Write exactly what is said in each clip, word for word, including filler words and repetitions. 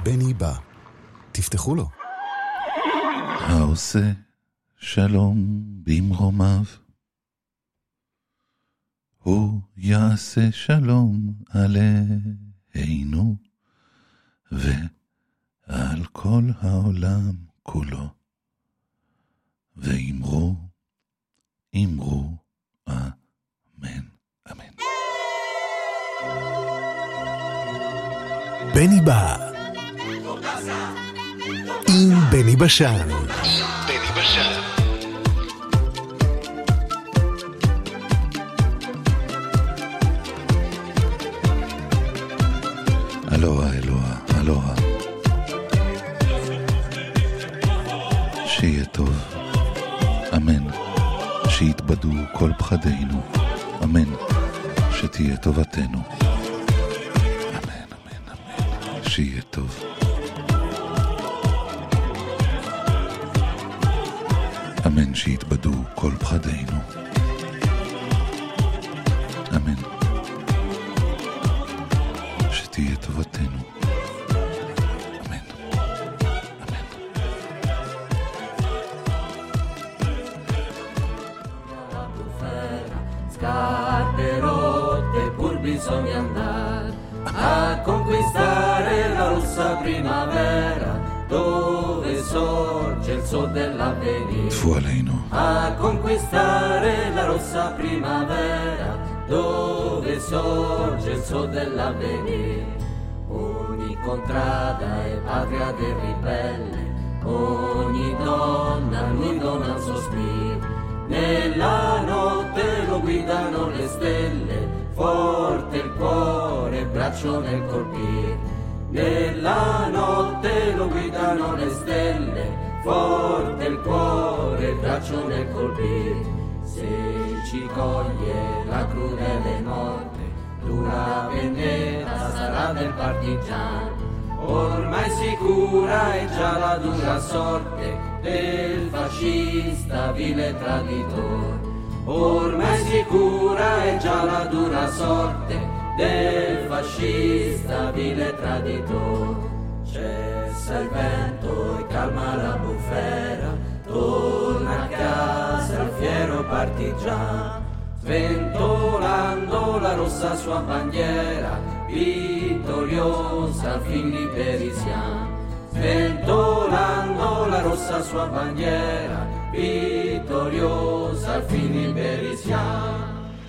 בני בא. תפתחו לו. העושה שלום במרומיו, הוא יעשה שלום עלינו ועל כל העולם כולו. ואמרו, אמרו, אמן, אמן. בני בא עם בני בשן. בני בשן. אלוהה, אלוהה, אלוהה. שיהיה טוב. אמן. שיתבדו כל פחדינו. אמן. שתהיה טובתנו. אמן, אמן, אמן. שיהיה טוב. אמן. שיתבדו כל פחדינו. אמן. שתהיה טובתנו. אמן. אמן. Scarpe rotte pur bisogna andare a conquistare la rossa primavera dove sorge il sol dell'avvenire. טפו עלינו. A conquistare la rossa primavera dove sorge il sol dell'avvenire. Ogni contrada è patria del ribelle, ogni donna lui dona un sospiro. Nella notte lo guidano le stelle, forte il cuore, il braccio nel colpire. Nella notte lo guidano le stelle, forte il cuore, il braccio nel colpire. Se ci coglie la crudele morte, dura vendetta sarà del partigiano. Ormai sicura è già la dura sorte del fascista vile traditore. Ormai sicura è già la dura sorte del fascista vile traditore. Cessa il vento e calma la bufera, torna a casa il fiero partigiano, sventolando la rossa sua bandiera, vittoriosa fin liberissiamo. Sventolando la rossa sua bandiera, vittoriosa fin liberissiamo.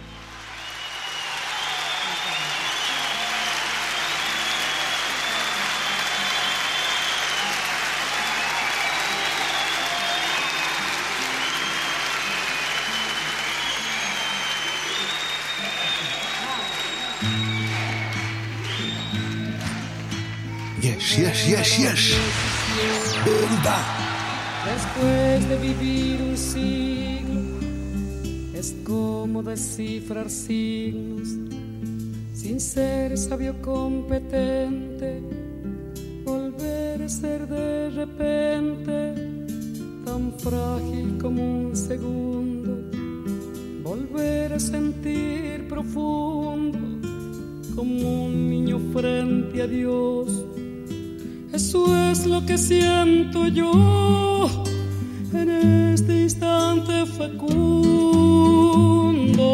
יש, יש, יש, יש. בני בא. Después de vivir un siglo, es como descifrar signos, sin ser sabio competente, volver a ser de repente, tan frágil como un segundo, volver a sentir profundo, como un niño frente a Dios. Eso es lo que siento yo en este instante fecundo.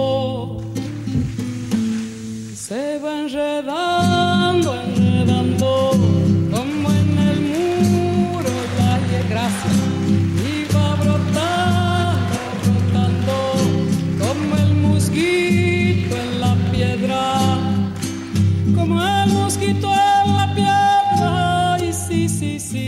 Se va enredando, enredando, como en el muro la gracia, y va brotando, brotando, como el mosquito en la piedra, como el mosquito en la piedra. Sí, sí, sí.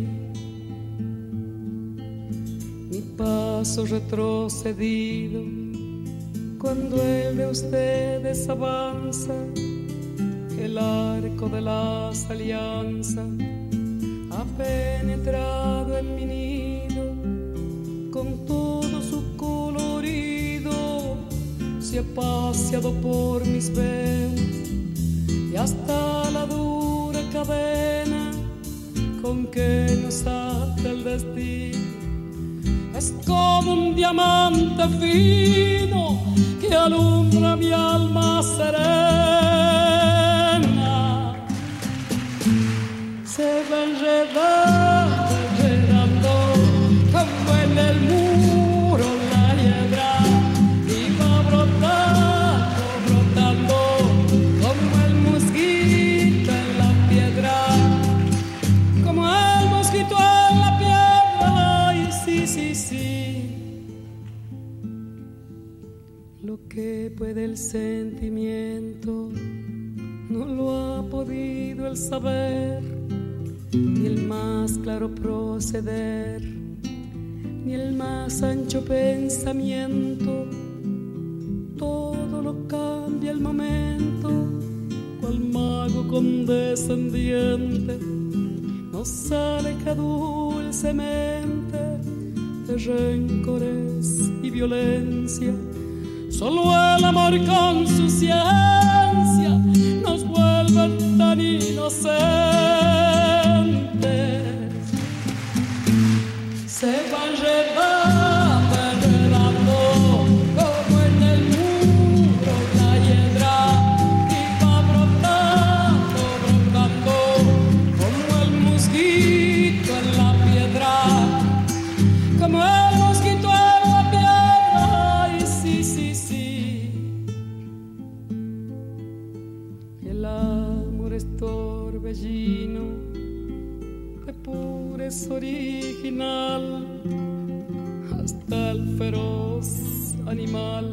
Mi paso retrocedido cuando el de ustedes avanza, el arco de las alianzas ha penetrado en mi nido con todo su colorido, se ha paseado por mis venas y hasta la dura cadena con que nos ata el destino. Es como un diamante fino que alumbra mi alma serena. Se ¿Qué puede el sentimiento? No lo ha podido el saber, ni el más claro proceder, ni el más ancho pensamiento. Todo lo cambia el momento, cual mago condescendiente nos aleja dulcemente de rencores y violencia. Solo el amor con su ciencia nos vuelve tan inocentes. Se va enredando, enredando como en el muro la hiedra, y va brotando, brotando como el mosquito en la piedra, como el mosquito en la piedra. Ay, sí, sí, sí. El amor es torbellino, de pura es original, hasta el feroz animal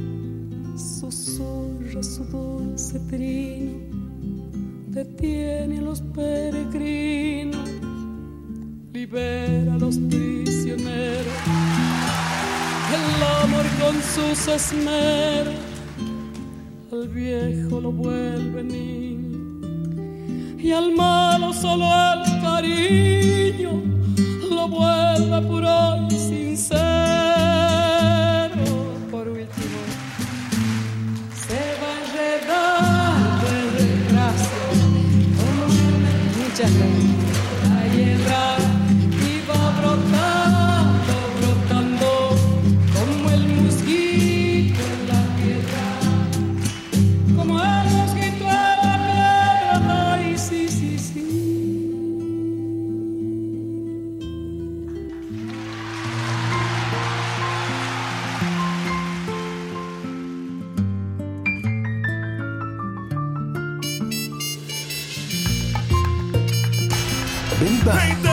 susurra su dulce trino, detiene a los peregrinos, libera a los prisioneros. El amor con sus esmeros al viejo lo vuelve niño, y al malo solo el cariño lo vuelve puro y sincero. Por último, se va enredando en desgracia, muchas gracias, la hiedra, y va brotando, brotando como el mosquito en la piedra, como el mosquito en la piedra. Ay, sí, sí, sí. Bimba,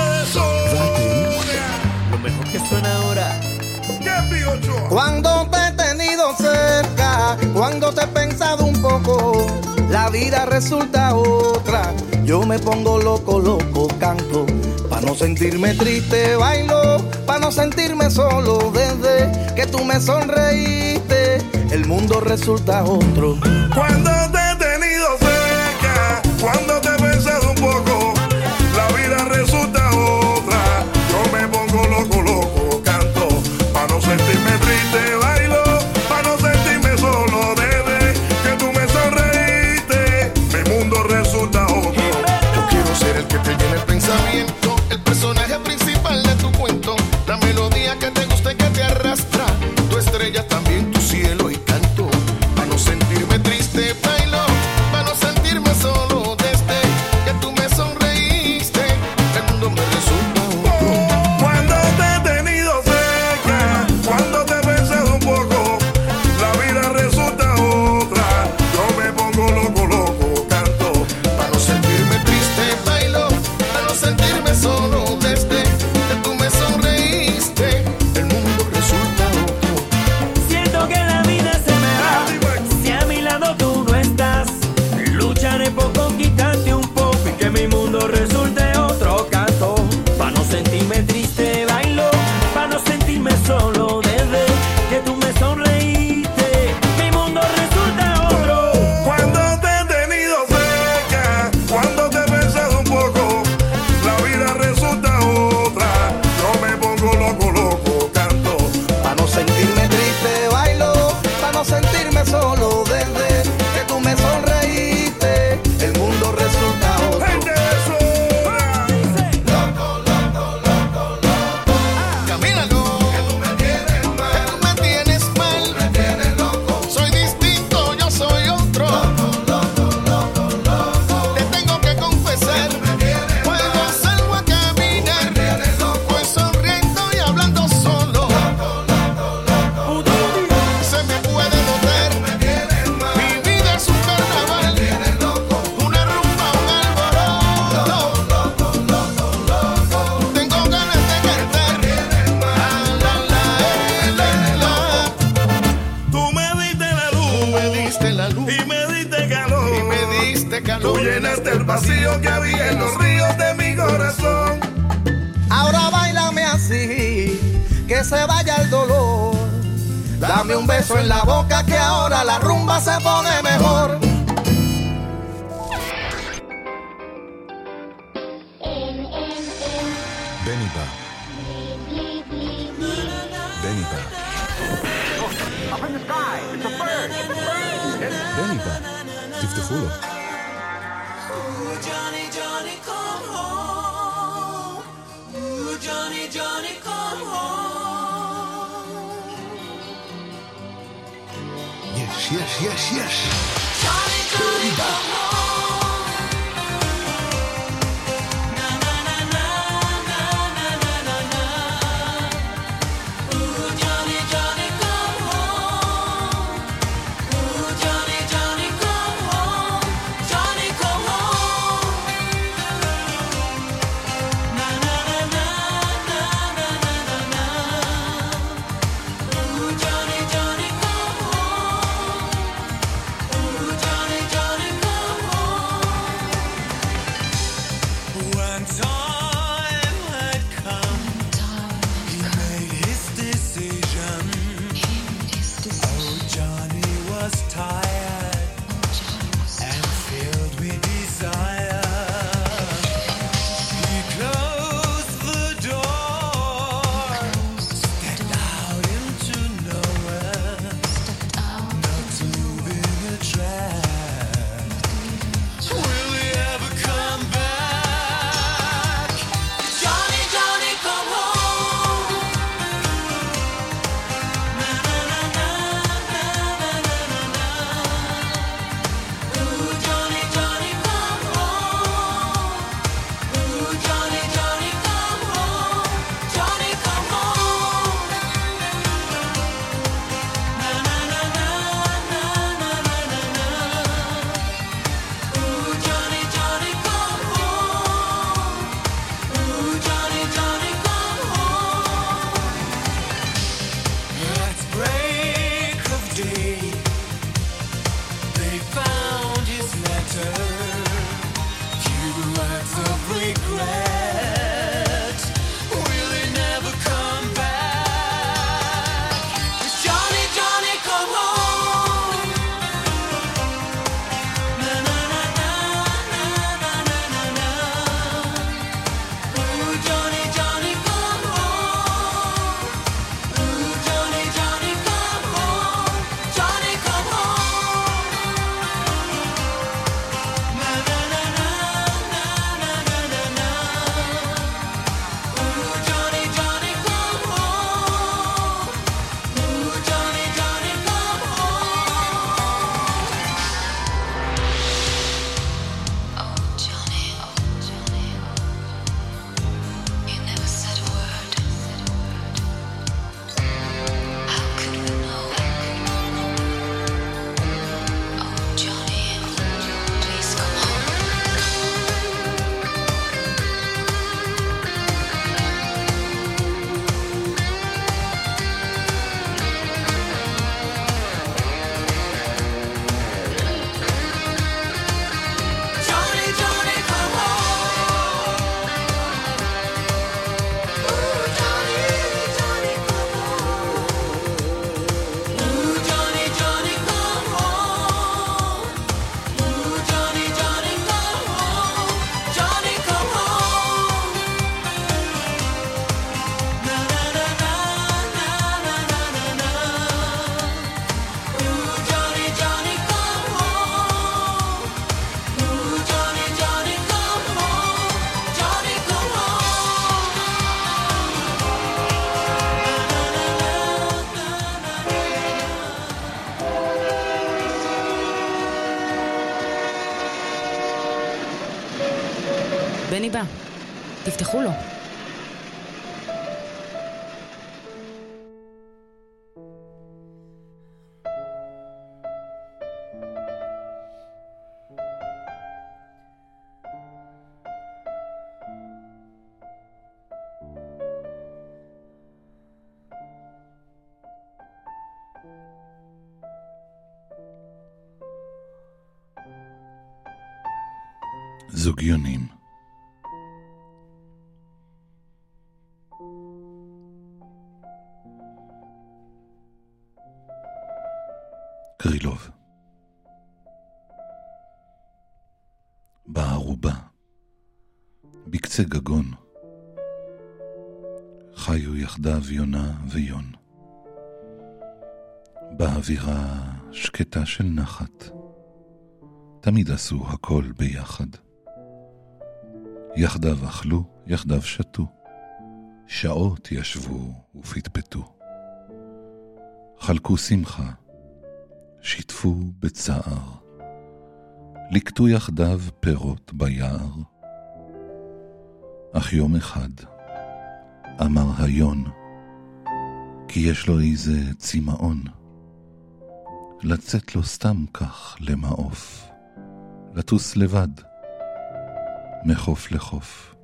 Lo mejor que suena ahora. Cuando te he tenido cerca, cuando te he pensado un poco, la vida resulta otra. Yo me pongo loco, loco, canto. Pa' no sentirme triste, bailo. Pa' no sentirme solo, desde que tú me sonreíste, el mundo resulta otro. Cuando te he tenido cerca, cuando te he pensado un poco, la vida resulta otra. Yo me pongo loco, loco, canto. Pa' no sentirme triste, bailo. Pa' no sentirme solo, desde que tú me sonreíste, mi mundo resulta otro. Yo quiero ser el que te llene el pensamiento, el personaje principal de tu cuento, la melodía que te gusta y que te arrastra, tu estrella también, tu cielo y canto. Pa' no sentirme triste, bailo. Tú llenaste el vacío que había en los ríos de mi corazón. Ahora báilame así, que se vaya el dolor. Dame un beso en la boca que ahora la rumba se pone mejor. Beniba. Beniba. Up in the sky, it's a bird, it's a bird. בניבה, תפתחו לו. Johnny, Johnny, come home. Ooh, Johnny, Johnny, come home. יש, יש, יש, יש. Johnny, Johnny, come home. Na na na na na na na na na. Ooh, Johnny, Johnny, come home. Ooh, Johnny, Johnny, come home. Johnny, come home. Na na na na na na na na na. Ooh, Johnny, Johnny, come home. Ooh, Johnny, Johnny, come home. When time had come, he made his decision. Oh, Johnny was tired and filled with desire. He closed the door, stepped out into nowhere, not to be a trap. Will he ever come back? Johnny, Johnny, come home. Na na na na na na na na na. Ooh, Johnny, Johnny, come home. Ooh, Johnny, Johnny, come home. Johnny, come home. Na na na na na na na na na. Ooh, Johnny, Johnny, come home. Ooh, Johnny, Johnny, come home. At break of day, they found his letter. Few words of regret. Will he never come back? Johnny, Johnny, come home. Na na na na na na na na na. Ooh, Johnny, Johnny, come home. Ooh, Johnny, Johnny, come home. Johnny, come home. Na na na na na na na na na. Ooh, Johnny, Johnny, come home. Ooh, Johnny, Johnny, come home. Oh, Johnny, oh, Johnny, you never said a word. How could we know? Oh, Johnny, please come home. Johnny, Johnny, come home. Ooh, Johnny, Johnny, come home. Ooh, Johnny, Johnny, come home. Ooh, Johnny, Johnny, come home. Johnny, come home. Na na na na na na na na na. Ooh, Johnny, Johnny, come home. Ooh, Johnny, Johnny, come home. Johnny, come home. בני בא, תפתחו לו. זוגיונים. קרילוב. בערובה, בקצה גגון, חיו יחדיו יונה ויון. באווירה שקטה של נחת, תמיד עשו הכל ביחד. יחדיו אכלו, יחדיו שתו, שעות ישבו ופטפטו. חלקו שמחה, שיתפו בצער, לקטו יחדיו פירות ביער. אך יום אחד אמר היון, כי יש לו איזה צמאון, לצאת לו סתם כך למעוף, לטוס לבד, מחוף לחוף,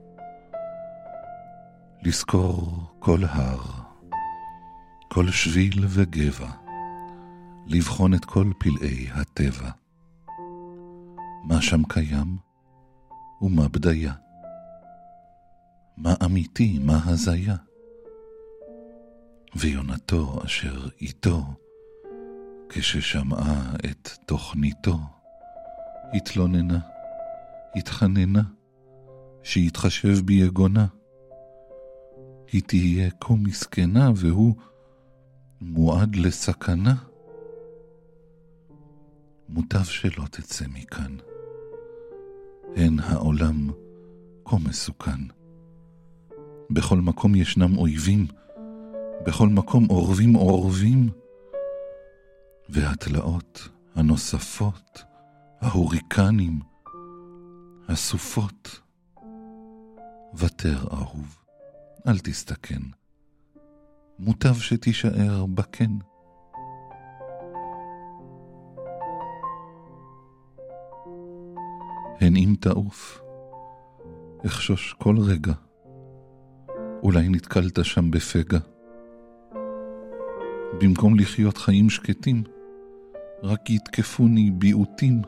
לזכור כל הר, כל שביל וגבע, לבחון את כל פלאי הטבע, מה שם קיים ומה בדיה, מה אמיתי, מה הזיה. ויונתו אשר איתו, כששמעה את תוכניתו, התלוננה, התחננה, שיתחשב ביגונה. היא תהיה כה מסכנה והוא מועד לסכנה. מוטב שלא תצא מכאן, הן העולם כה מסוכן. בכל מקום ישנם אויבים, בכל מקום אורבים אורבים, והתלאות הנוספות, ההוריקנים, הסופות. ותר אהוב, אל תסתכן, מוטב שתישאר בכן. הן אם תעוף, אחשוש כל רגע, אולי נתקלת שם בפגע. במקום לחיות חיים שקטים, רק יתקפוני ביעוטים.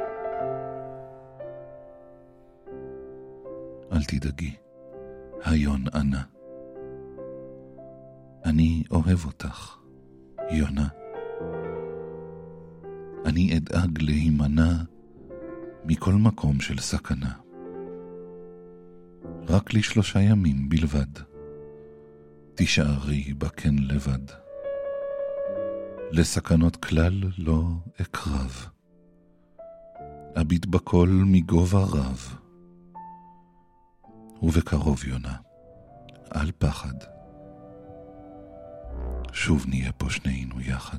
אל תדאגי, היון ענה, אני אוהב אותך, יונה. אני אדאג להימנע מכל מקום של סכנה. רק לשלושה ימים בלבד, תישארי בכן לבד. לסכנות כלל לא אקרב, אביט בכל מגובה רב. ובקרוב יונה, אל פחד, שוב נהיה פה שנינו יחד.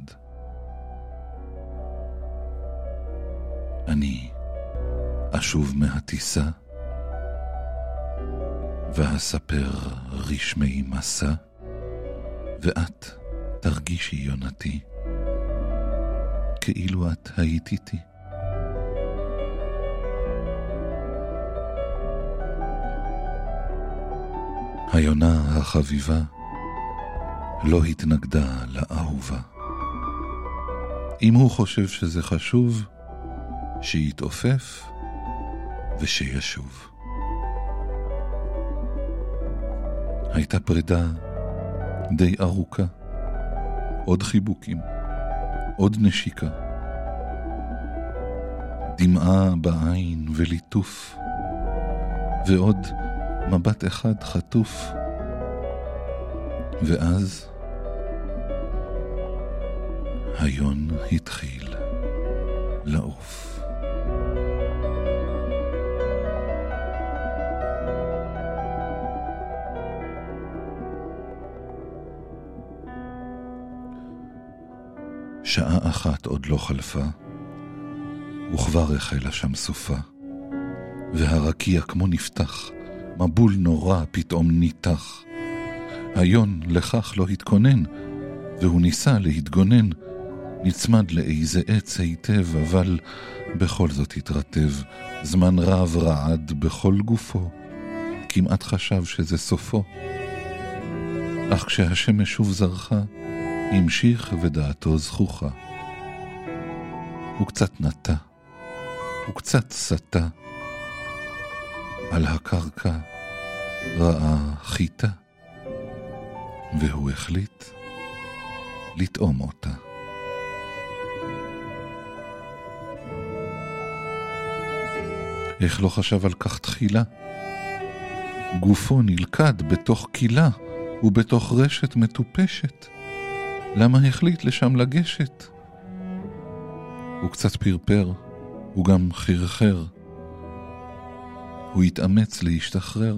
אני אשוב מהטיסה, ואספר רשמי מסע, ואת תרגישי יונתי, כאילו את היית איתי. היונה החביבה לא התנגדה לאהובה. אם הוא חושב שזה חשוב, שיתעופף ושישוב. הייתה פרידה די ארוכה, עוד חיבוקים, עוד נשיקה, דמעה בעין וליטוף, ועוד מבט אחד חטוף. ואז היון התחיל לעוף. שעה אחת עוד לא חלפה, וכבר החלה שם סופה, והרקיע כמו נפתח, מבול נורא פתאום ניתח. היון לכך לא התכונן, והוא ניסה להתגונן, נצמד לאיזה עץ היטב, אבל בכל זאת התרטב. זמן רב רעד בכל גופו, כמעט חשב שזה סופו. אך כשהשמש שוב זרחה, המשיך ודעתו זכוכה. הוא קצת נטה, הוא קצת סטה, על הקרקע ראה חיטה, והוא החליט לטעום אותה. איך לא חשב על כך תחילה? גופו נלכד בתוך קילה ובתוך רשת מטופשת. למה החליט לשם לגשת? הוא קצת פרפר, הוא גם חרחר. הוא התאמץ להשתחרר.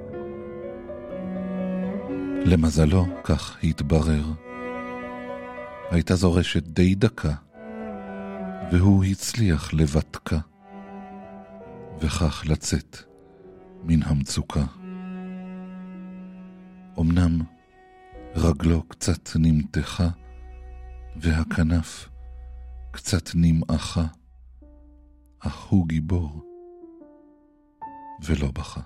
למזלו, כך התברר, הייתה זו רשת די דקה, והוא הצליח לבטקה, וכך לצאת מן המצוקה. אמנם רגלו קצת נמתחה, והכנף קצת נמעכה, אך הוא גיבור ולא בכה.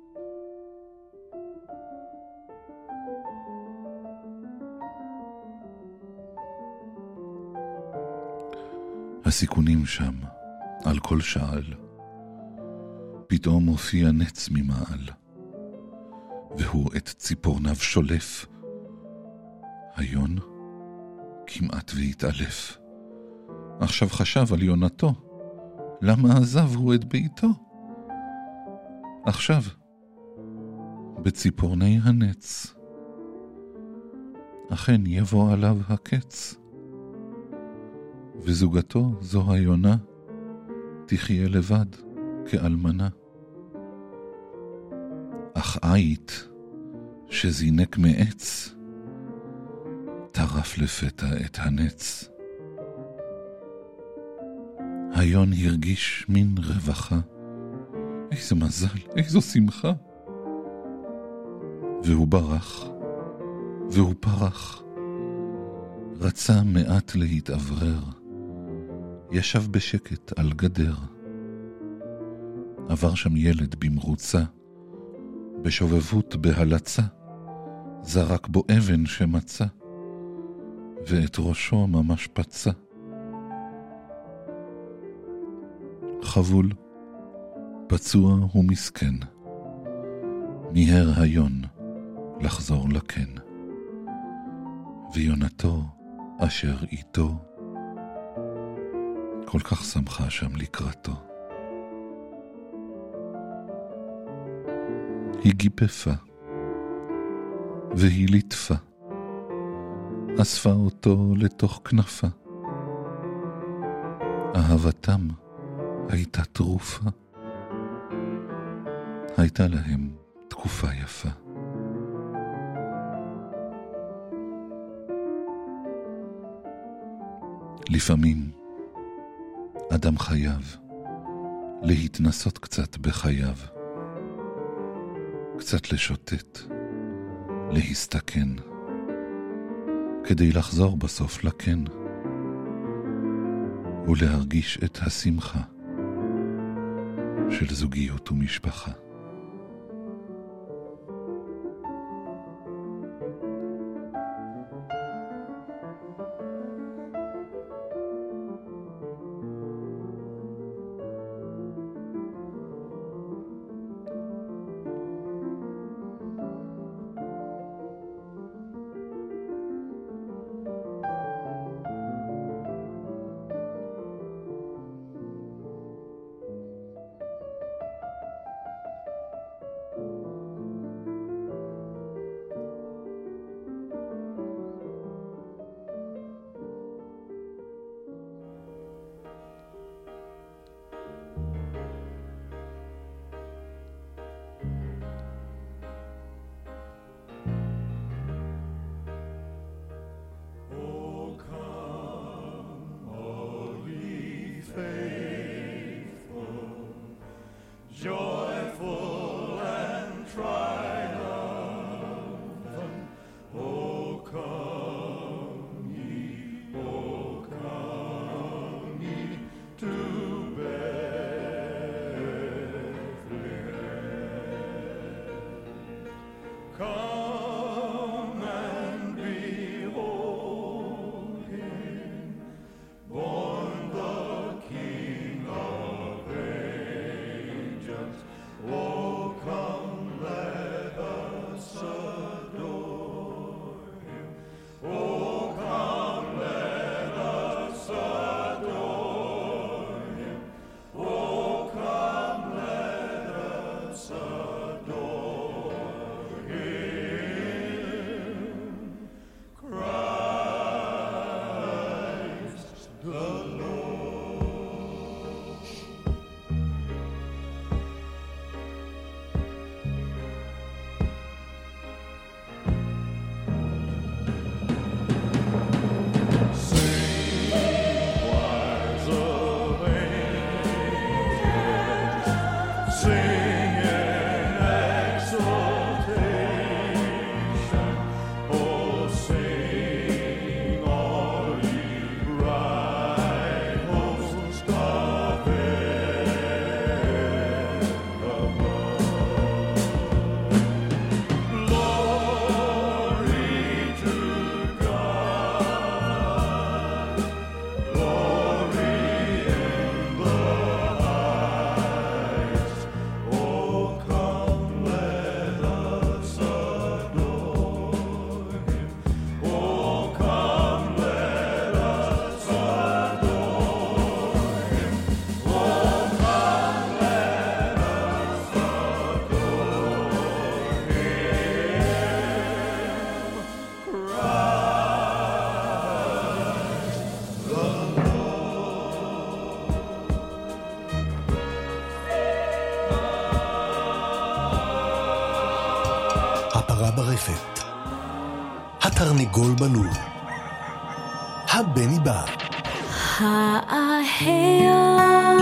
הסיכונים שם, על כל שעל, פתאום הופיע נץ ממעל, והוא את ציפורניו שולף. היון כמעט והתעלף. עכשיו חשב על יונתו, למה עזב הוא את ביתו? עכשיו, בציפורני הנץ, אכן יבוא עליו הקץ, וזוגתו זו היונה תחיה לבד כאלמנה. אך עית שזינק מעץ טרף לפתע את הנץ. היון הרגיש מין רווחה, איזה מזל, איזו שמחה. והוא ברח, והוא פרח, רצה מעט להתאוורר, ישב בשקט על גדר. עבר שם ילד במרוצה, בשובבות בהלצה, זרק בו אבן שמצא, ואת ראשו ממש פצע. חבול, פצוע ומסכן, מיהר היון לחזור לקן, ויונתו אשר איתו כל כך שמחה שם לקראתו. היא גיפפה והיא ליטפה, אספה אותו לתוך כנפה. אהבתם הייתה תרופה, הייתה להם תקופה יפה. לפעמים אדם חייב להתנסות קצת בחייו, קצת לשוטט, להסתכן, כדי לחזור בסוף לכן, ולהרגיש את השמחה של זוגיות ומשפחה. תרנגול בלול. הבני בא. האהיה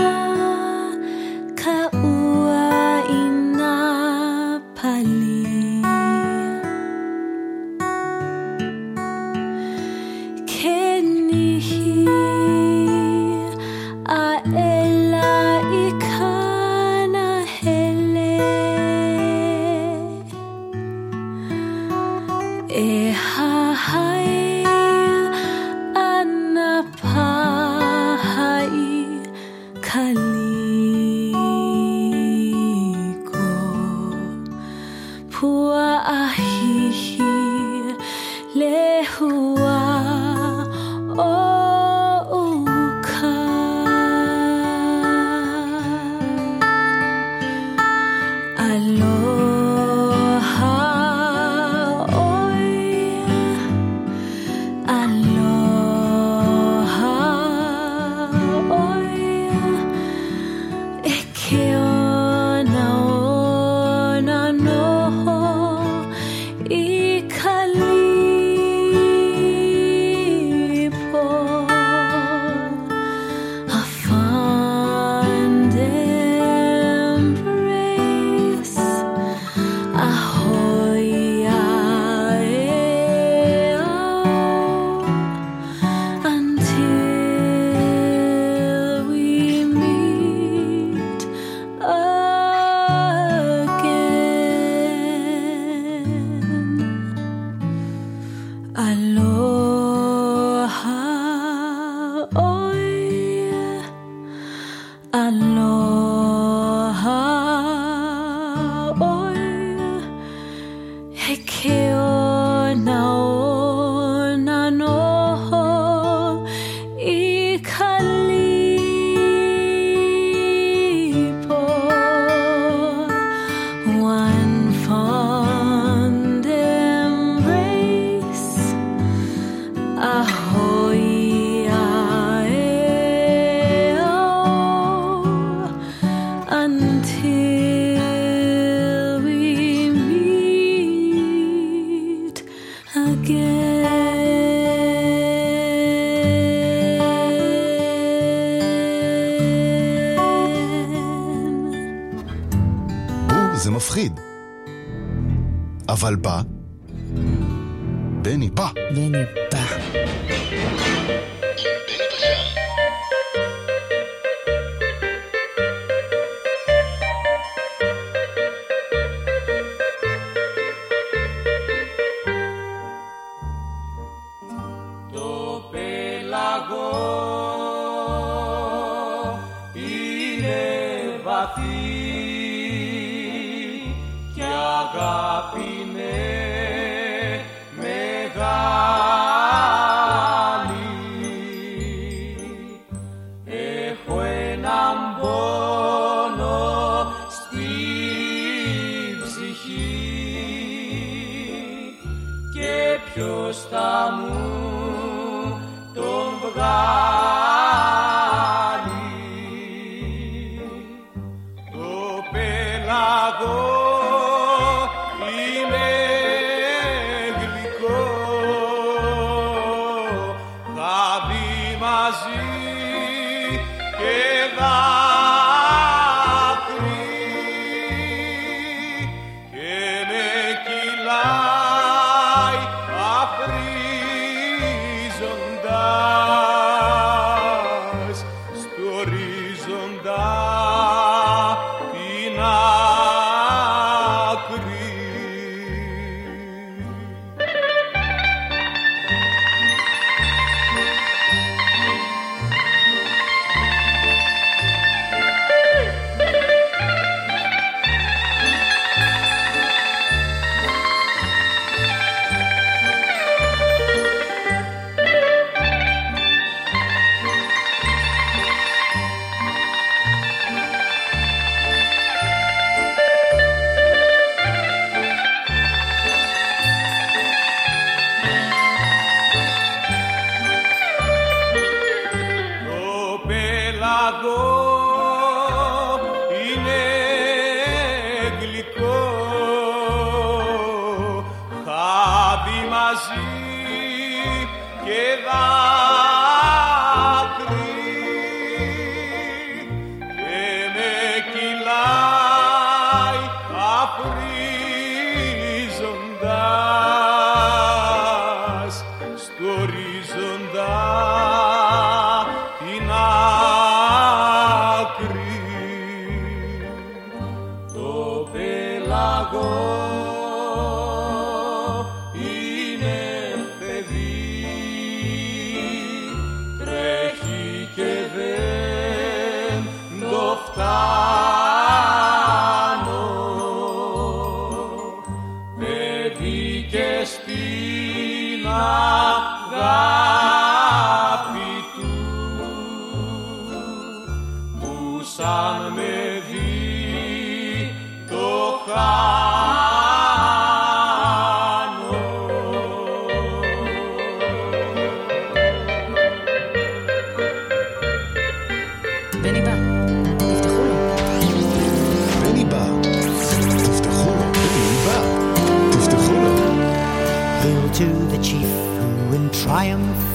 קאואה אינה פלי כניהי האלה איקנה הלה איהי זה מפחיד. אבל בא, בני בא. בני בא.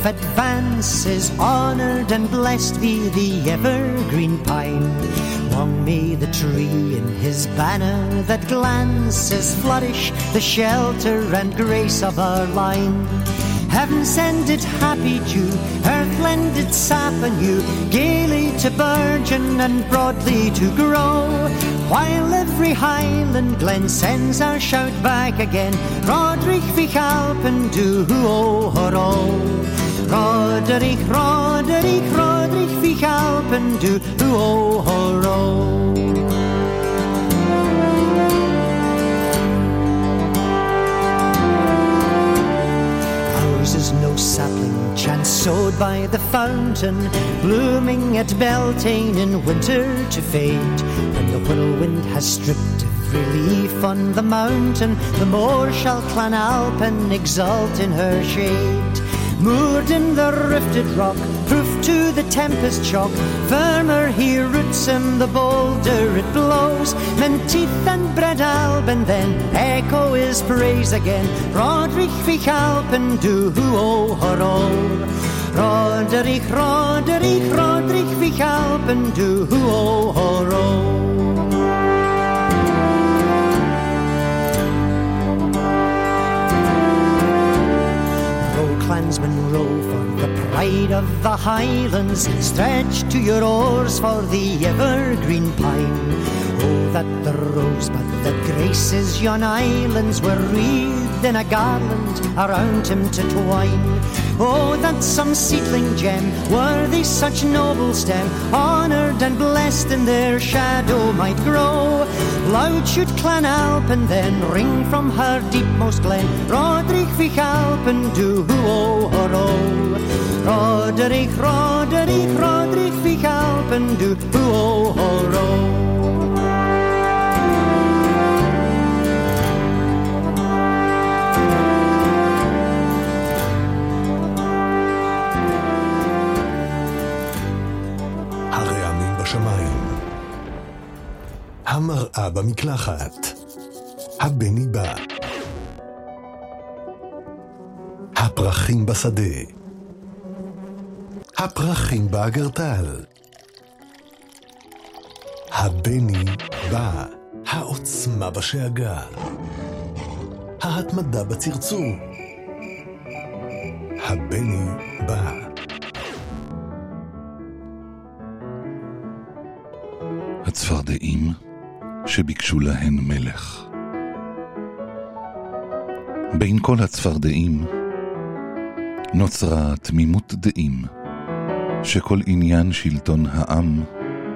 life advances, honored and blessed be the evergreen pine. Long may the tree in his banner that glances flourish, the shelter and grace of our line. Heaven send it happy dew, earth lend it sap anew, gaily to burgeon and broadly to grow, while every highland glen sends our shout back again, Roderick vich Alpen du o horo. Roderick, Roderick, Roderick vich Alpen du o horo. Is no sapling chance sowed by the fountain, blooming at Beltane in winter to fade. When the whirlwind has stripped every leaf on the mountain, the more shall Clan Alpin exult in her shade. Moored in the rifted rock, proof to the tempest shock, firmer he roots him, the bolder it blows. Menteith and Bread Alban then echo his praise again, Roderick vich Alpen du o horo. Roderick, Roderick, Roderick vich Alpen du o horo. Clansmen row for the pride of the Highlands, stretch to your oars for the evergreen pine. Oh, that the rosebud that graces yon islands were wreathed in a garland around him to twine. Oh, that some seedling gem, worthy such noble stem, honoured and blessed in their shadow might grow. Loud should Clan Alpin then ring from her deepmost glen, Roderick vich Alpen du o horo. Roderick, Roderick, Roderick vich Alpen du o horo. הרעמים בשמיים, המראה במקלחת, הבני בא, הפרחים בשדה, הפרחים באגרטל, הבני בא, העוצמה בשאגה, ההתמדה בצרצור, הבני בא. הצפרדעים שביקשו להן מלך. בין כל הצפרדעים נוצרה תמימות דעים שכל עניין שלטון העם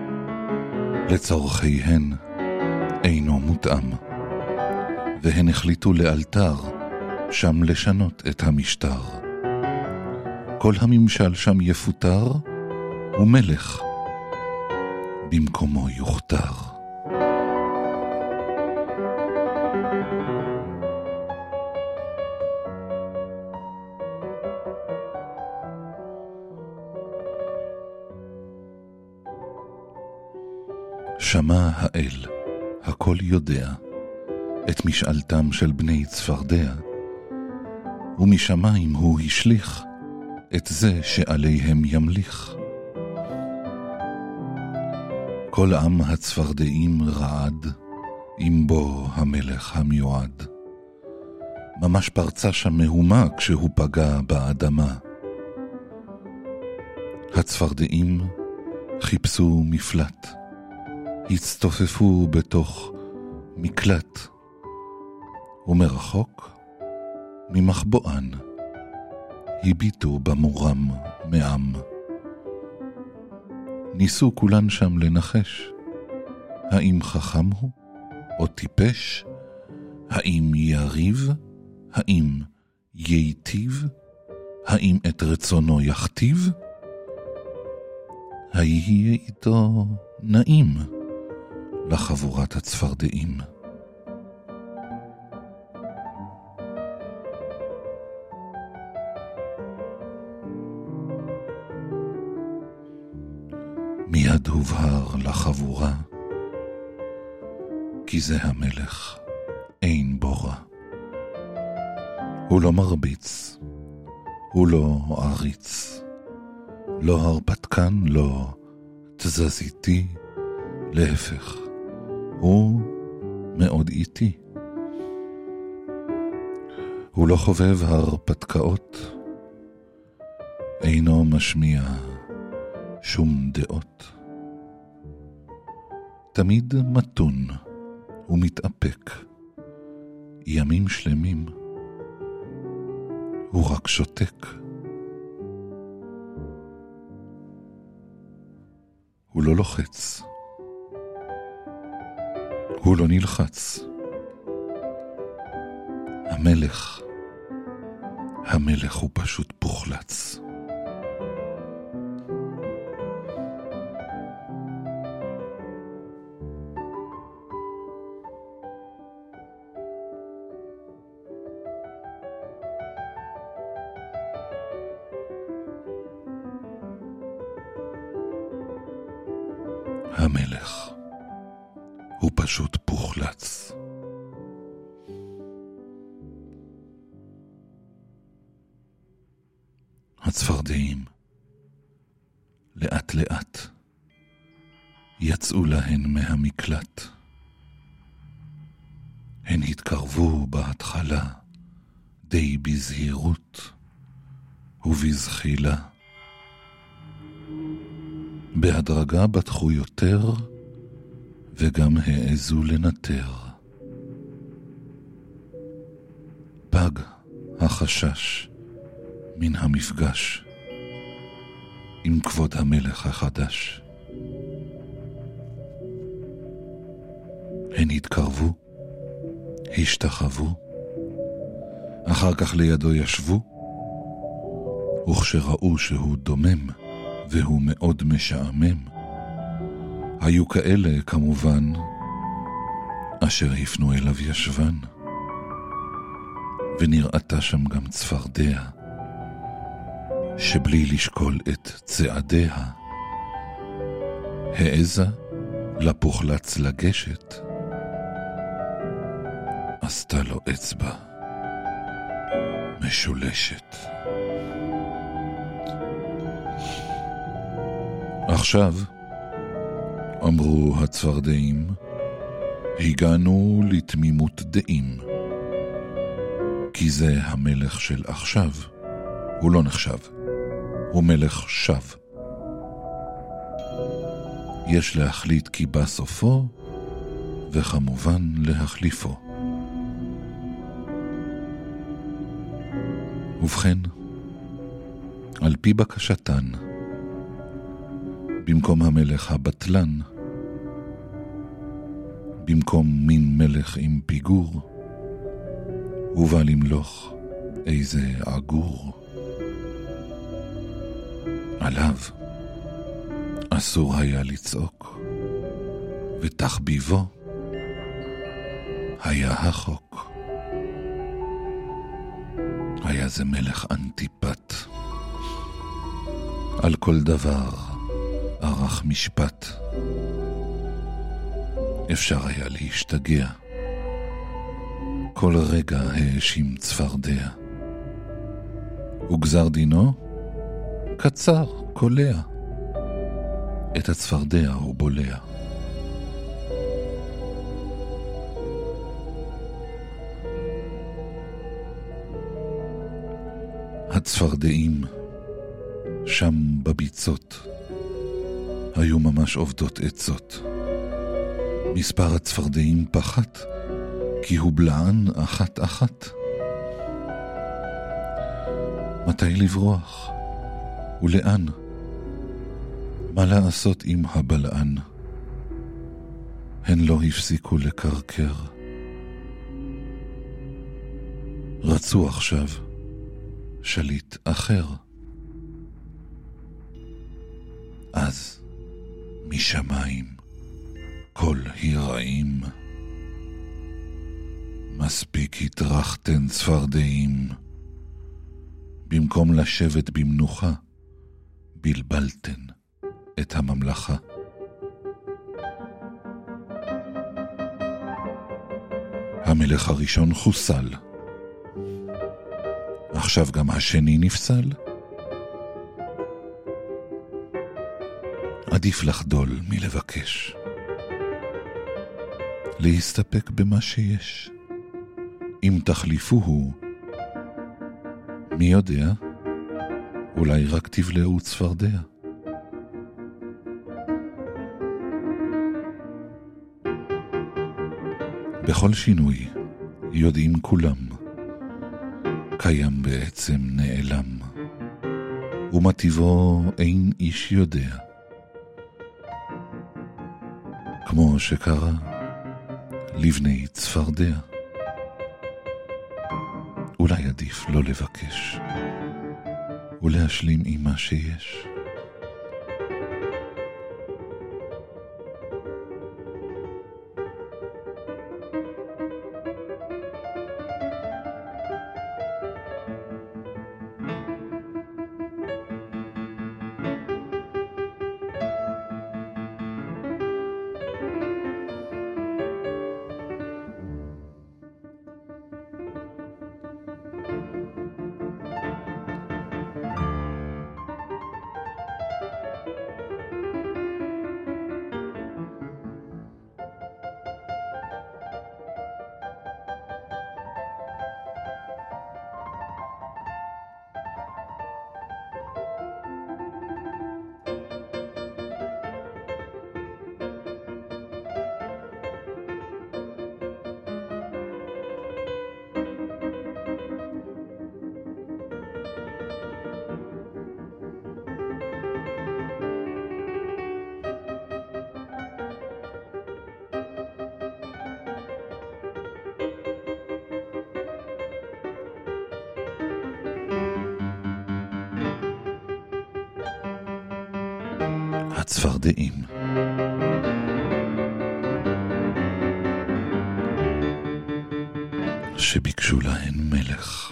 לצורכיהן אינו מותאם, והן החליטו לאלתר שם לשנות את המשטר. כל הממשל שם יפוטר ומלך במקומו יוכתר. שמע האל, הכל יודע, את משאלתם של בני צפרדע, ומשמיים הוא השליך את זה שעליהם ימליך. כל עם הצפרדעים רעד, עם בו המלך המיועד. ממש פרצה שם מהומה כשהוא פגע באדמה. הצפרדעים חיפשו מפלט, הצטופפו בתוך מקלט, ומרחוק, ממחבואן, הביטו במורם מעם. ניסו כולן שם לנחש, האם חכם הוא או טיפש, האם יריב, האם ייטיב, האם את רצונו יכתיב, היהיה איתו נעים לחבורת הצפרדעים. מיד הובהר לחבורה, כי זה המלך, אין בו רע. הוא לא מרביץ, הוא לא עריץ, לא הרפתקן, לא תזזיתי, להפך, הוא מאוד איטי. הוא לא חובב הרפתקאות, אינו משמיע שום דעות. תמיד מתון ומתאפק, ימים שלמים הוא רק שותק. הוא לא לוחץ, הוא לא נלחץ. המלך, המלך הוא פשוט פוחלץ. המלך הוא פשוט פוחלץ. הצפרדעים לאט לאט יצאו להן מהמקלט. הן התקרבו בהתחלה די בזהירות ובזחילה. בהדרגה בטחו יותר וגם העזו לנטר. פג החשש מן המפגש עם כבוד המלך החדש. הן התקרבו, השתחוו, אחר כך לידו ישבו, וכשראו שהוא דומם והוא מאוד משעמם, היו כאלה כמובן אשר הפנו אליו ישבן, ונראתה שם גם צפרדע שבלי לשקול את צעדיה העזה לפוחלץ לגשת, עשתה לו אצבע משולשת. עכשיו, אמרו הצפרדעים, הגענו לתמימות דעים, כי זה המלך של עכשיו, הוא לא נחשב, הוא מלך שב. יש להחליט כי בא סופו, וכמובן להחליפו. ובכן, על פי בקשתן, במקום המלך הבטלן, במקום מין מלך עם פיגור, הוא בא למלוך איזה עגור. עליו אסור היה לצעוק, ותחביבו היה החוק. היה זה מלך אנטיפט, על כל דבר ערך משפט. אפשר היה להשתגע, כל רגע האשים צפרדע, וגזר דינו קצר, קולע, את הצפרדע הוא בולע. הצפרדעים שם בביצות היו ממש עובדות עצות. מספר הצפרדעים פחת, כי הוא בלען אחת אחת. מתי לברוח? ולאן? מה לעשות עם הבלען? הן לא הפסיקו לקרקר. רצו עכשיו שליט אחר. אז משמיים כל היראים, מספיק התרחתן צפרדעים, במקום לשבת במנוחה בלבלתן את הממלכה. המלך הראשון חוסל, עכשיו גם השני נפסל? עדיף לחדול מלבקש. להסתפק במה שיש. אם תחליפוהו, מי יודע? אולי רק תבלעו צפרדע. בכל שינוי יודעים כולם, קיים בעצם נעלם, ומה טיבו אין איש יודע. כמו שקרה לבני צפרדע. אולי עדיף לא לבקש ולהשלים עם מה שיש. הצפרדעים. שביקשו להן מלך.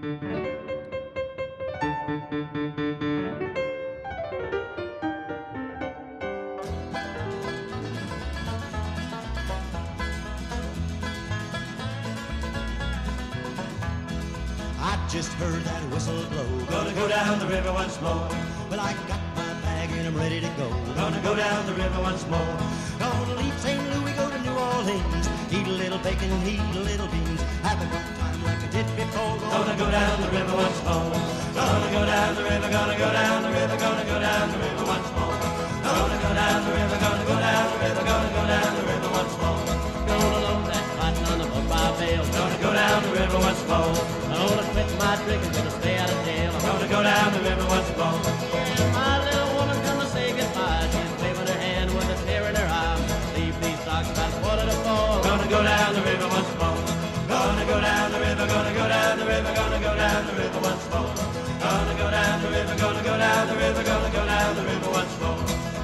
Just heard that whistle blow. Gonna go down the river once more. Well, I got my bag and I'm ready to go. Gonna go down the river once more. Gonna leave Saint Louis, go to New Orleans. Eat a little bacon, eat a little beans. Have a good time like I did before. Gonna go down the river once more. Gonna go down the river, gonna go down the river, gonna go down the river once more. Gonna go down the river, gonna go down the river, gonna go down the river once more. Gonna load that cotton on the boat by bale. Gonna go down the river once more. I'm gonna quit my drinking, gonna stay out of jail. I'm gonna go down the river once more. Yeah, my little woman's gonna say goodbye. She's waving her hand with a tear in her eye. Leave these socks about quarter to four. Gonna go down the river once more. Gonna go down the river, gonna go down the river, gonna go down the river once more. Gonna go down the river, gonna go down the river, gonna go down the river once more.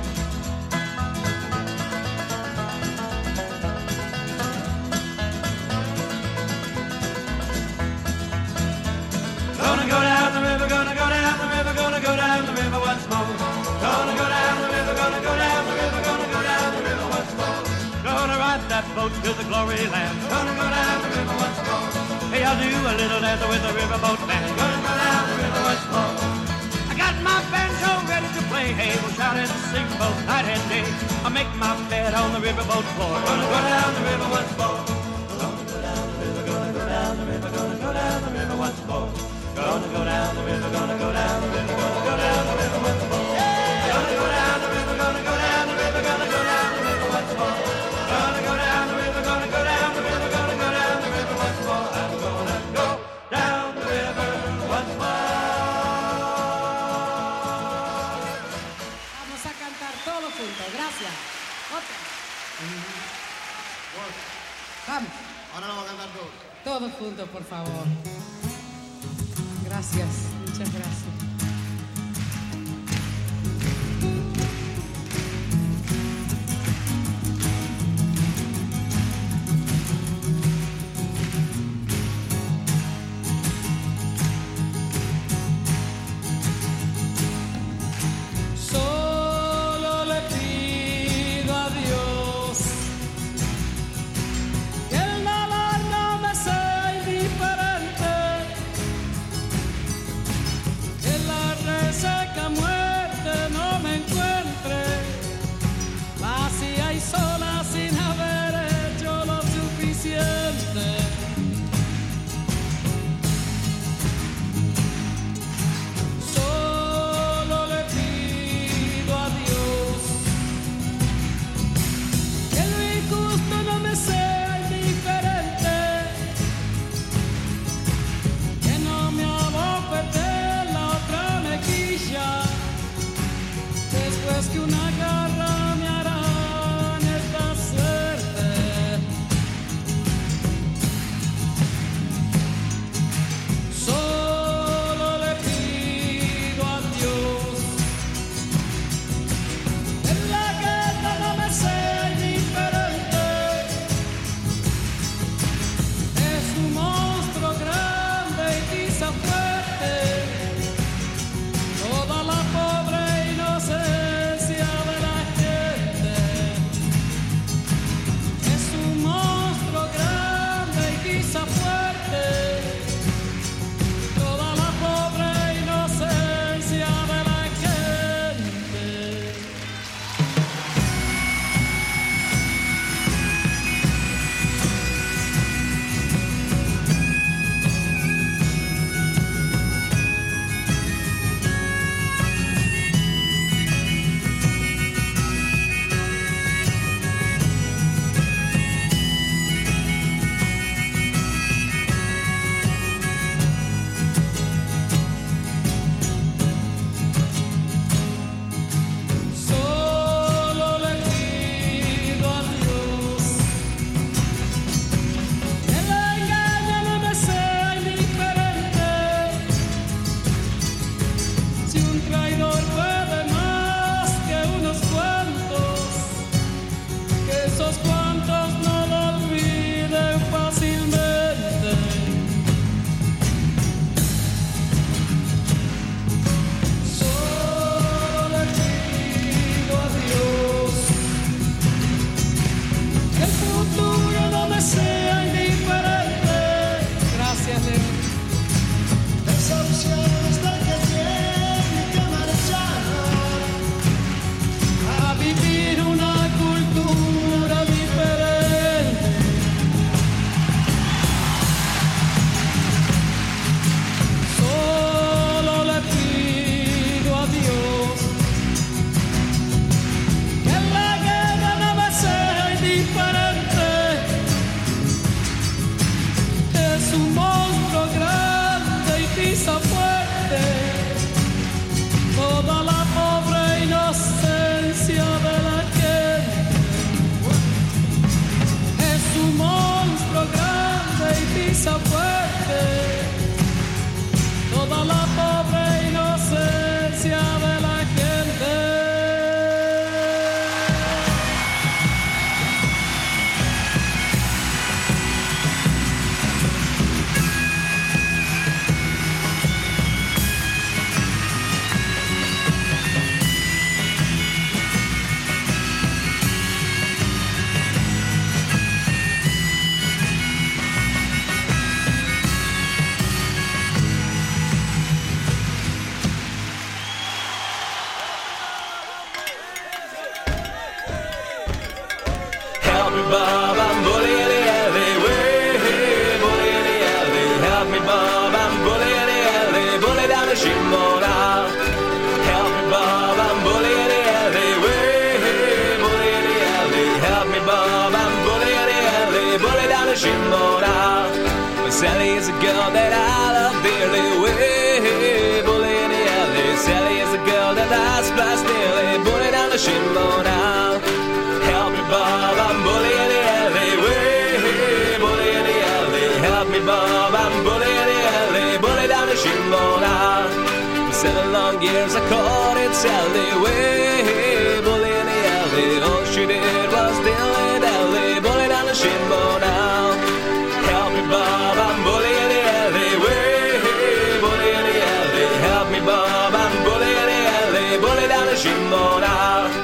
Gonna go down the river, gonna go down the river, gonna go down the river once more. Gonna go down the river, gonna go down the river, gonna go down the river once more. Gonna ride that boat to the glory land. Gonna go down the river once more. Hey, I'll do a little dance with the riverboat band. Gonna go down the river once more. I got my banjo ready to play. Hey, we'll shout and sing both night and day. I'll make my bed on the riverboat floor. Gonna go down the river once more. Gonna go down the river, gonna go down the river, gonna go down the river once more. Gonna go down the river, gonna go down the river, gonna go down the river once more. Gonna go down the river, gonna go down the river, gonna go down the river once more. Gonna go down the river, gonna go down the river, gonna go down the river once more. I'm gonna go down the river once more. Vamos a cantar todos juntos, gracias. Otra. Vamos. Ahora lo vamos a cantar todos. Todos juntos, por favor. Gracias, muchas gracias. Solo le pido a Dios que el dolor no me sea indiferente. más que una garra me harán esta suerte. Solo le pido a Dios en la guerra no me sea indiferente. Es un monstruo grande y quizá fuerte. Toda la pobre inocencia de la gente. Es un monstruo grande y quizá fuerte. Toda la pobre inocencia de la gente. Solo le pido a Dios que el engaño no me sea indiferente. Si un traidor puede más que unos cuantos, que esos cuantos no lo olviden fácilmente. Solo le pido a Dios que el futuro no me sea indiferente. Gracias, Leo. Esa opción es la que tiene que marchar a vivir una cultura diferente. Solo le pido a Dios que la guerra no me sea indiferente. Es un monstruo grande y quizá fuerte. Toda la pobre inocencia de la gente. Es un monstruo grande y quizá fuerte. Toda la pobre inocencia de la gente. Help me, Bob, I'm bully in the alleyway. Bully in the alley. Help me, Bob, I'm bully in the alley. Bully down the shimona. Help me, Bob, I'm bully in the alleyway. Bully in the alley. Help me, Bob, I'm bully in the alley. Bully down the shimona. Sally is a girl that I love dearly. Way, bully in the alley. Sally is a girl that I splash dearly. Bully down the shimona. Help me, Bob, I'm bully in the alley. Way, bully in the alley. Help me, Bob, I'm bully in the alley. Bully down the shimona. For seven long years I caught it Sally. Way, bully in the alley. All she did was dilly dally. Bully down the shimona. Help me, Bob, I'm bully in the alley. Way, bully in the alley. Help me, Bob, I'm bully in the alley. Bully down the shimona.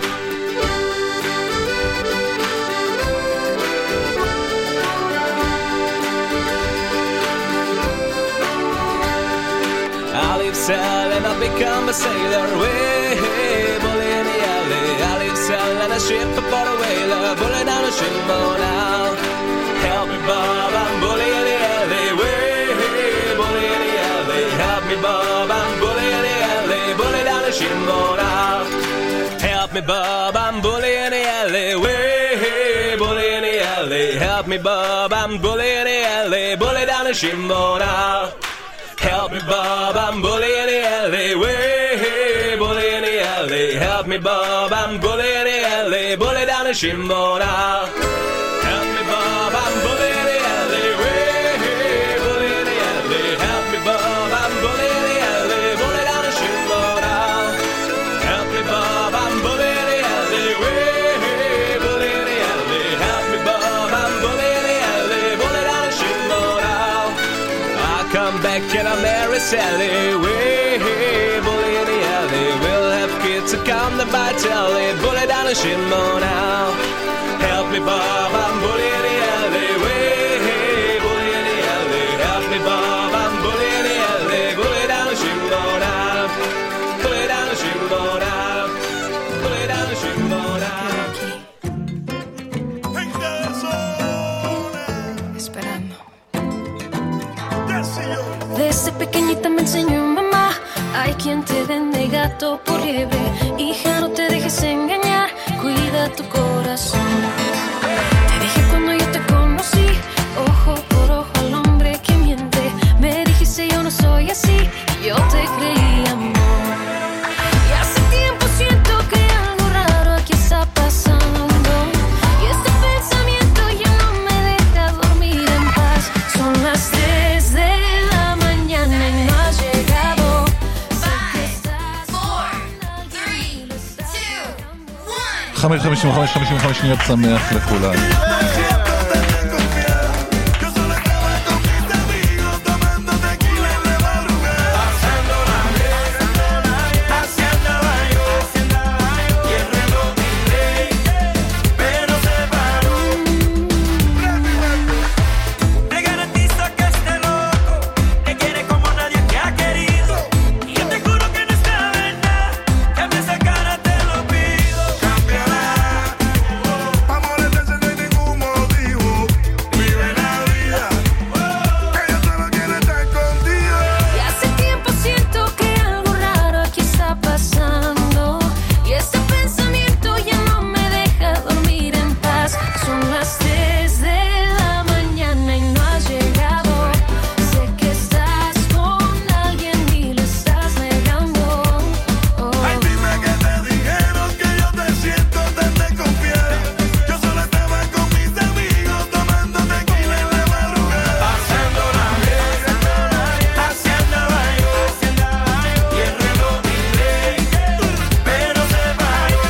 I leave cell and I become a sailor. Way, bully in the alley. I leave cell and I ship aboard a whaler. Bully down the shimona. Help me, Bob, I'm bully in the alley. Way, bully in the alley. Help me, Bob, I'm bully in the alley. Bully down the shimona. Help me, Bob, I'm bully in the alley. Way, bully in the alley. Help me, Bob, I'm bully in the alley. Bully down the shimona. Help me, Bob, I'm bully in the alley. Way, bully in the alley. alley. Help me, Bob, I'm bully in the alley. Bully down the Shimona. Help me, Bob, I'm bully in the alley. Way, hey, bully in the alley. Help me, Bob, I'm bully in the alley. Bully down the Shimona. Help me, Bob, I'm bully in the alley. Way, hey, bully in the alley. Help me, Bob, I'm bully in the alley. Bully down the Shimona. I come back and I'm Mary Sally. Way, hey, bully in the alley. We'll have kids to come to buy telly. Bully down the Shimona. Help me, Bob, I'm bully in the alley. Way, hey, bully in the alley. Help me, Bob, I'm bully in the alley. Bully down the Shimona. Bully down the Shimona. Bully down the Shimona. Esperando. Desde pequeñita me enseñó mamá, hay quien te vende gato por liebre. Hija, no te dejes engañar, cuida tu corazón. Te dije cuando yo te conocí, ojo por ojo al hombre que miente. Me dijiste yo no soy así, y yo te creí, amor. Y hace tiempo siento que algo raro aquí está pasando, y este pensamiento ya no me deja dormir en paz. Son las tres de la mañana y no has llegado. Sé que estás con alguien y lo estás dejando. חמש חמישים וחמש חמישים וחמש שניות שמח לכולם. Te garantizo que este loco te quiere como nadie te ha querido. Y yo te juro que no está verdad. Cambia esa cara, te lo pido. Cambiará. Amores de ese no hay ningún motivo. Vive la vida. Ella solo quiere estar contigo. Y hace tiempo siento que algo raro aquí está pasando, y este pensamiento ya no me deja dormir en paz. Son las tres de la mañana y no has llegado. Sé que estás con alguien y lo estás negando. Oh. Ay, dime que te dijeron que yo te siento tan desconfiada. Yo solo estaba con mis amigos tomando tequila en la madrugada. Pasando la vez, así andaba yo. Y el reloj tiré, pero se paró.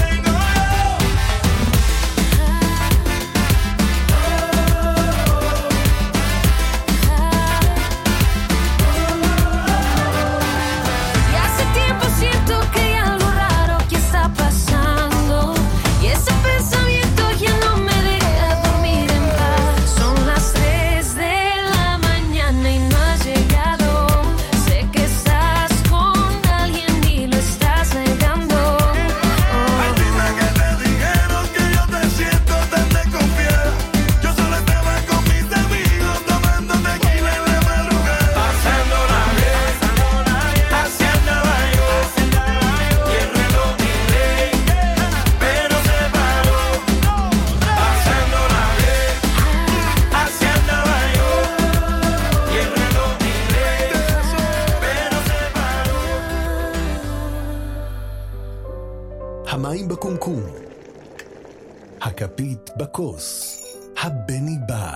Y hace tiempo siento que hay algo raro que está pasando, y ese pensamiento ya no me deja dormir en paz. Son las tres de la mañana y no has llegado. Sé que estás con alguien y lo estás negando. Ay, dime que te dijeron que yo te siento tan desconfiada. Yo solo estaba con mis amigos tomando tequila en la madrugada. Pasando la vez, así andaba yo. Y el reloj tiré, pero se paró. Pasando la vez, así andaba yo. Y el reloj tiré, pero se paró. המים בקומקום, הכפית בכוס, הבני בא.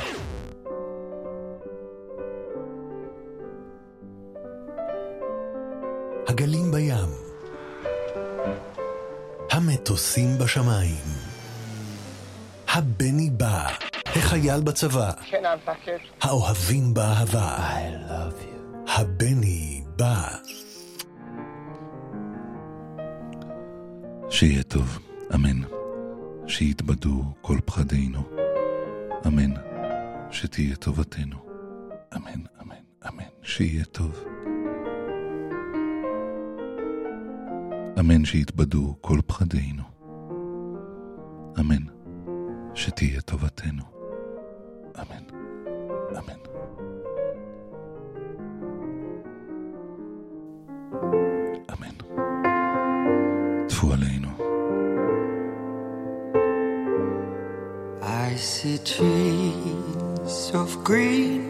הגלים בים, המטוסים בשמיים, הבני בא, החייל בצבא, האוהבים באהבה, הבני בא. שיהיה טוב, אמן. שיתבדו כל פחדינו, אמן. שתהיה טובתנו, אמן, אמן, אמן. שיהיה טוב, אמן. שיתבדו כל פחדינו, אמן. שתהיה טובתנו, אמן, אמן. אמן. טפו עלינו. I see trees of green,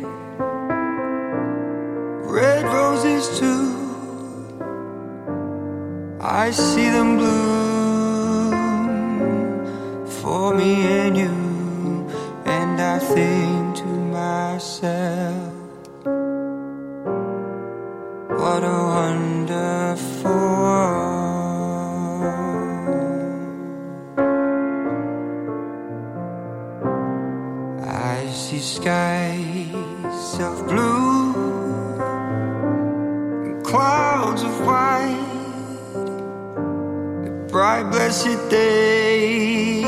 red roses too. I see them bloom for me and you, and I think to myself, what a wonderful world. I see skies of blue and clouds of white, a bright blessed day,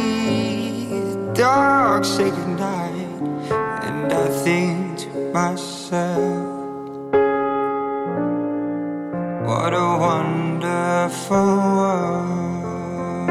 dark sacred night, and I think to myself, what a wonderful world.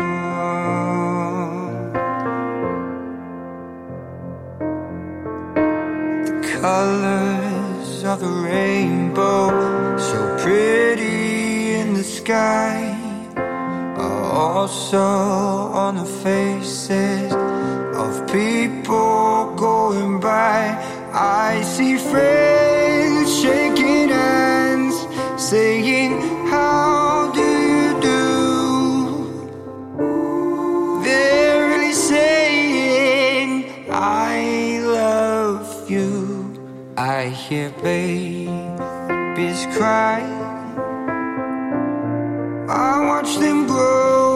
The colors of the rainbow, so pretty in the sky, are also on the faces of people going by. I see friends shaking hands, saying, how do you do? They're really saying, I love you. I hear babies cry, I watch them grow,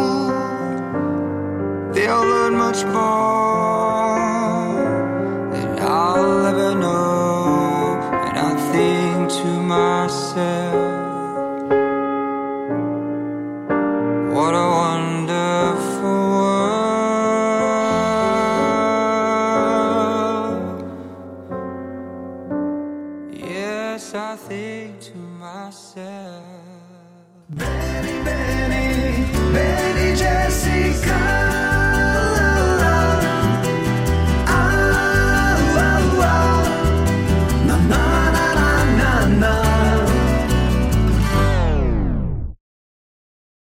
they'll learn much more than I'll ever know. And I think to myself, what a wonderful world. Yes, I think to myself, baby, baby.